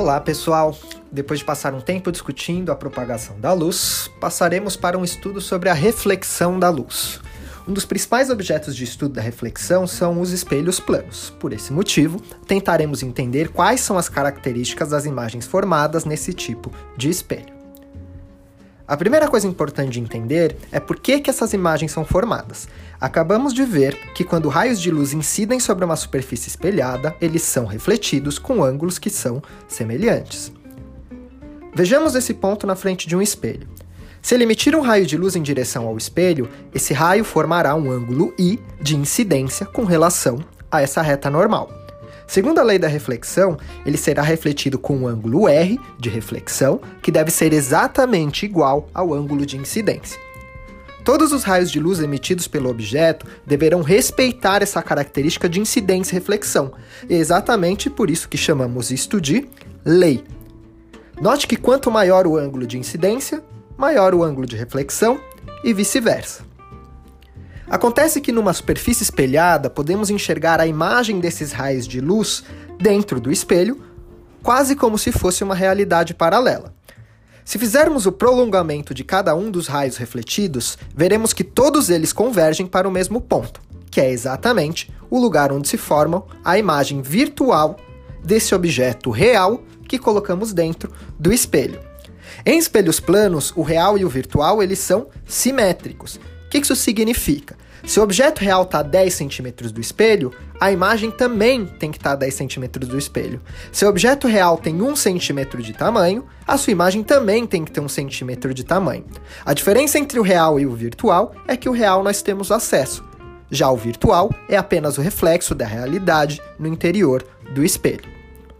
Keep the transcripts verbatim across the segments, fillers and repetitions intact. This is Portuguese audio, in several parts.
Olá, pessoal! Depois de passar um tempo discutindo a propagação da luz, passaremos para um estudo sobre a reflexão da luz. Um dos principais objetos de estudo da reflexão são os espelhos planos. Por esse motivo, tentaremos entender quais são as características das imagens formadas nesse tipo de espelho. A primeira coisa importante de entender é por que, que essas imagens são formadas. Acabamos de ver que quando raios de luz incidem sobre uma superfície espelhada, eles são refletidos com ângulos que são semelhantes. Vejamos esse ponto na frente de um espelho. Se ele emitir um raio de luz em direção ao espelho, esse raio formará um ângulo I de incidência com relação a essa reta normal. Segundo a lei da reflexão, ele será refletido com um ângulo R de reflexão, que deve ser exatamente igual ao ângulo de incidência. Todos os raios de luz emitidos pelo objeto deverão respeitar essa característica de incidência e reflexão, e é exatamente por isso que chamamos isto de lei. Note que quanto maior o ângulo de incidência, maior o ângulo de reflexão e vice-versa. Acontece que numa superfície espelhada podemos enxergar a imagem desses raios de luz dentro do espelho, quase como se fosse uma realidade paralela. Se fizermos o prolongamento de cada um dos raios refletidos, veremos que todos eles convergem para o mesmo ponto, que é exatamente o lugar onde se forma a imagem virtual desse objeto real que colocamos dentro do espelho. Em espelhos planos, o real e o virtual eles são simétricos. O que isso significa? Se o objeto real está a dez centímetros do espelho, a imagem também tem que estar a dez centímetros do espelho. Se o objeto real tem um centímetro de tamanho, a sua imagem também tem que ter um centímetro de tamanho. A diferença entre o real e o virtual é que o real nós temos acesso. Já o virtual é apenas o reflexo da realidade no interior do espelho.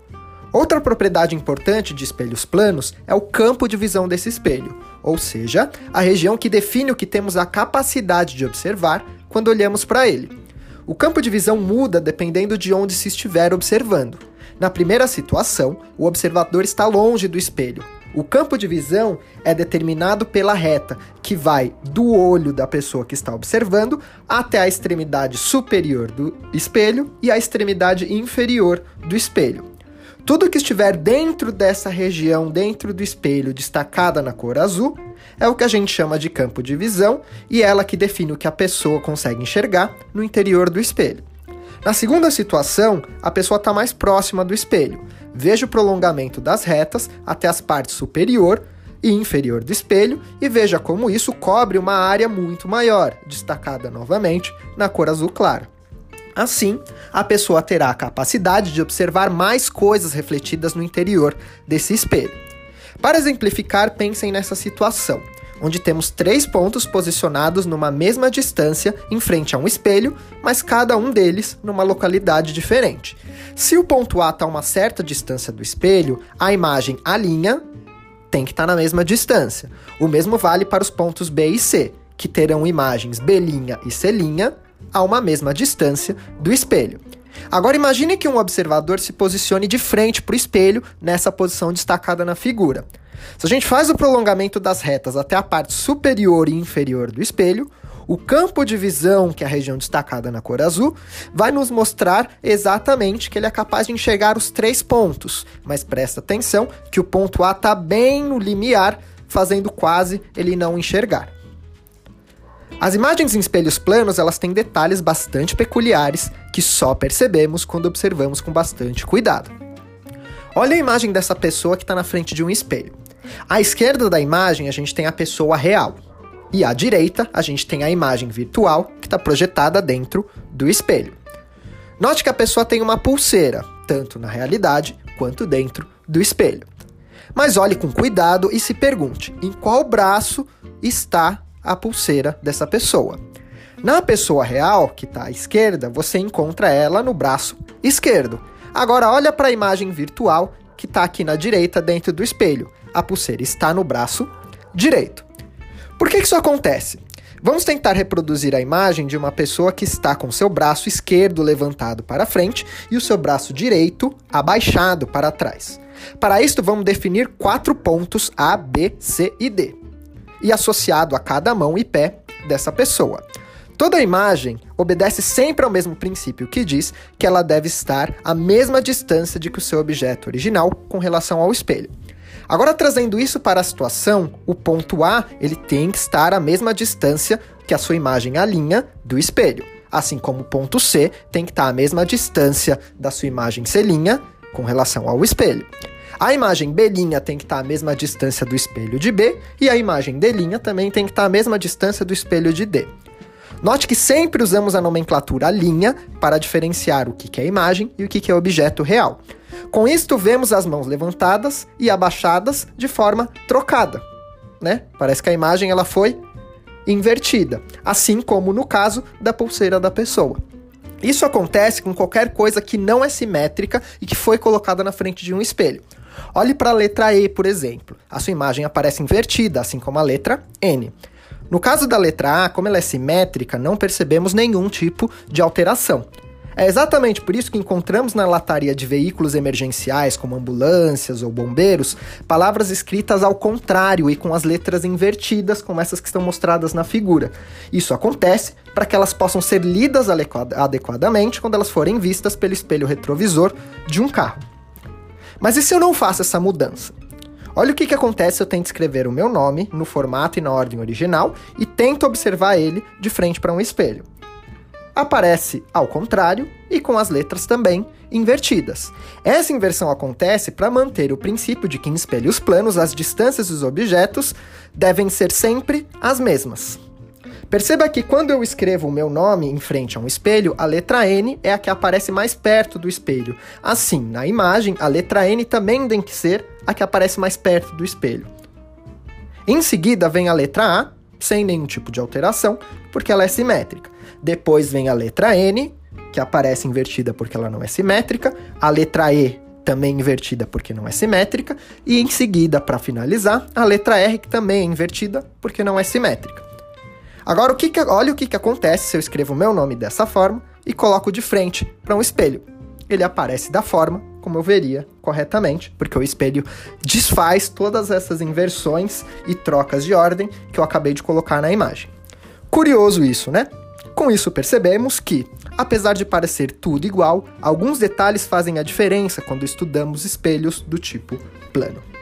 Outra propriedade importante de espelhos planos é o campo de visão desse espelho, ou seja, a região que define o que temos a capacidade de observar quando olhamos para ele. O campo de visão muda dependendo de onde se estiver observando. Na primeira situação, o observador está longe do espelho. O campo de visão é determinado pela reta, que vai do olho da pessoa que está observando até a extremidade superior do espelho e a extremidade inferior do espelho. Tudo que estiver dentro dessa região, dentro do espelho, destacada na cor azul, é o que a gente chama de campo de visão e é ela que define o que a pessoa consegue enxergar no interior do espelho. Na segunda situação, a pessoa está mais próxima do espelho. Veja o prolongamento das retas até as partes superior e inferior do espelho e veja como isso cobre uma área muito maior, destacada novamente na cor azul clara. Assim, a pessoa terá a capacidade de observar mais coisas refletidas no interior desse espelho. Para exemplificar, pensem nessa situação, onde temos três pontos posicionados numa mesma distância em frente a um espelho, mas cada um deles numa localidade diferente. Se o ponto A está a uma certa distância do espelho, a imagem A' tem que estar na mesma distância. O mesmo vale para os pontos B e C, que terão imagens B' e C' a uma mesma distância do espelho. Agora imagine que um observador se posicione de frente para o espelho nessa posição destacada na figura. Se a gente faz o prolongamento das retas até a parte superior e inferior do espelho, o campo de visão, que é a região destacada na cor azul, vai nos mostrar exatamente que ele é capaz de enxergar os três pontos, mas presta atenção que o ponto A está bem no limiar, fazendo quase ele não enxergar. As imagens em espelhos planos, elas têm detalhes bastante peculiares que só percebemos quando observamos com bastante cuidado. Olha a imagem dessa pessoa que está na frente de um espelho. À esquerda da imagem, a gente tem a pessoa real. E à direita, a gente tem a imagem virtual que está projetada dentro do espelho. Note que a pessoa tem uma pulseira, tanto na realidade quanto dentro do espelho. Mas olhe com cuidado e se pergunte, em qual braço está a pulseira dessa pessoa? Na pessoa real, que está à esquerda, você encontra ela no braço esquerdo. Agora olha para a imagem virtual que está aqui na direita dentro do espelho. A pulseira está no braço direito. Por que isso acontece? Vamos tentar reproduzir a imagem de uma pessoa que está com seu braço esquerdo levantado para frente e o seu braço direito abaixado para trás. Para isso, vamos definir quatro pontos A, B, C e D. E associado a cada mão e pé dessa pessoa. Toda imagem obedece sempre ao mesmo princípio, que diz que ela deve estar à mesma distância de que o seu objeto original com relação ao espelho. Agora, trazendo isso para a situação, o ponto A ele tem que estar à mesma distância que a sua imagem A' do espelho, assim como o ponto C tem que estar à mesma distância da sua imagem C' com relação ao espelho. A imagem B' tem que estar à mesma distância do espelho de B, e a imagem D' também tem que estar à mesma distância do espelho de D. Note que sempre usamos a nomenclatura linha para diferenciar o que é imagem e o que é objeto real. Com isto, vemos as mãos levantadas e abaixadas de forma trocada, né? Parece que a imagem ela foi invertida, assim como no caso da pulseira da pessoa. Isso acontece com qualquer coisa que não é simétrica e que foi colocada na frente de um espelho. Olhe para a letra E, por exemplo. A sua imagem aparece invertida, assim como a letra N. No caso da letra A, como ela é simétrica, não percebemos nenhum tipo de alteração. É exatamente por isso que encontramos na lataria de veículos emergenciais, como ambulâncias ou bombeiros, palavras escritas ao contrário e com as letras invertidas, como essas que estão mostradas na figura. Isso acontece para que elas possam ser lidas adequadamente quando elas forem vistas pelo espelho retrovisor de um carro. Mas e se eu não faço essa mudança? Olha o que, que acontece se eu tento escrever o meu nome no formato e na ordem original e tento observar ele de frente para um espelho. Aparece ao contrário e com as letras também invertidas. Essa inversão acontece para manter o princípio de que em espelhos planos as distâncias dos objetos devem ser sempre as mesmas. Perceba que quando eu escrevo o meu nome em frente a um espelho, a letra N é a que aparece mais perto do espelho. Assim, na imagem, a letra N também tem que ser a que aparece mais perto do espelho. Em seguida vem a letra A, sem nenhum tipo de alteração, porque ela é simétrica. Depois vem a letra N, que aparece invertida porque ela não é simétrica. A letra E, também invertida porque não é simétrica. E em seguida, para finalizar, a letra R, que também é invertida porque não é simétrica. Agora, o que que, olha o que, que acontece se eu escrevo o meu nome dessa forma e coloco de frente para um espelho. Ele aparece da forma como eu veria corretamente, porque o espelho desfaz todas essas inversões e trocas de ordem que eu acabei de colocar na imagem. Curioso isso, né? Com isso percebemos que, apesar de parecer tudo igual, alguns detalhes fazem a diferença quando estudamos espelhos do tipo plano.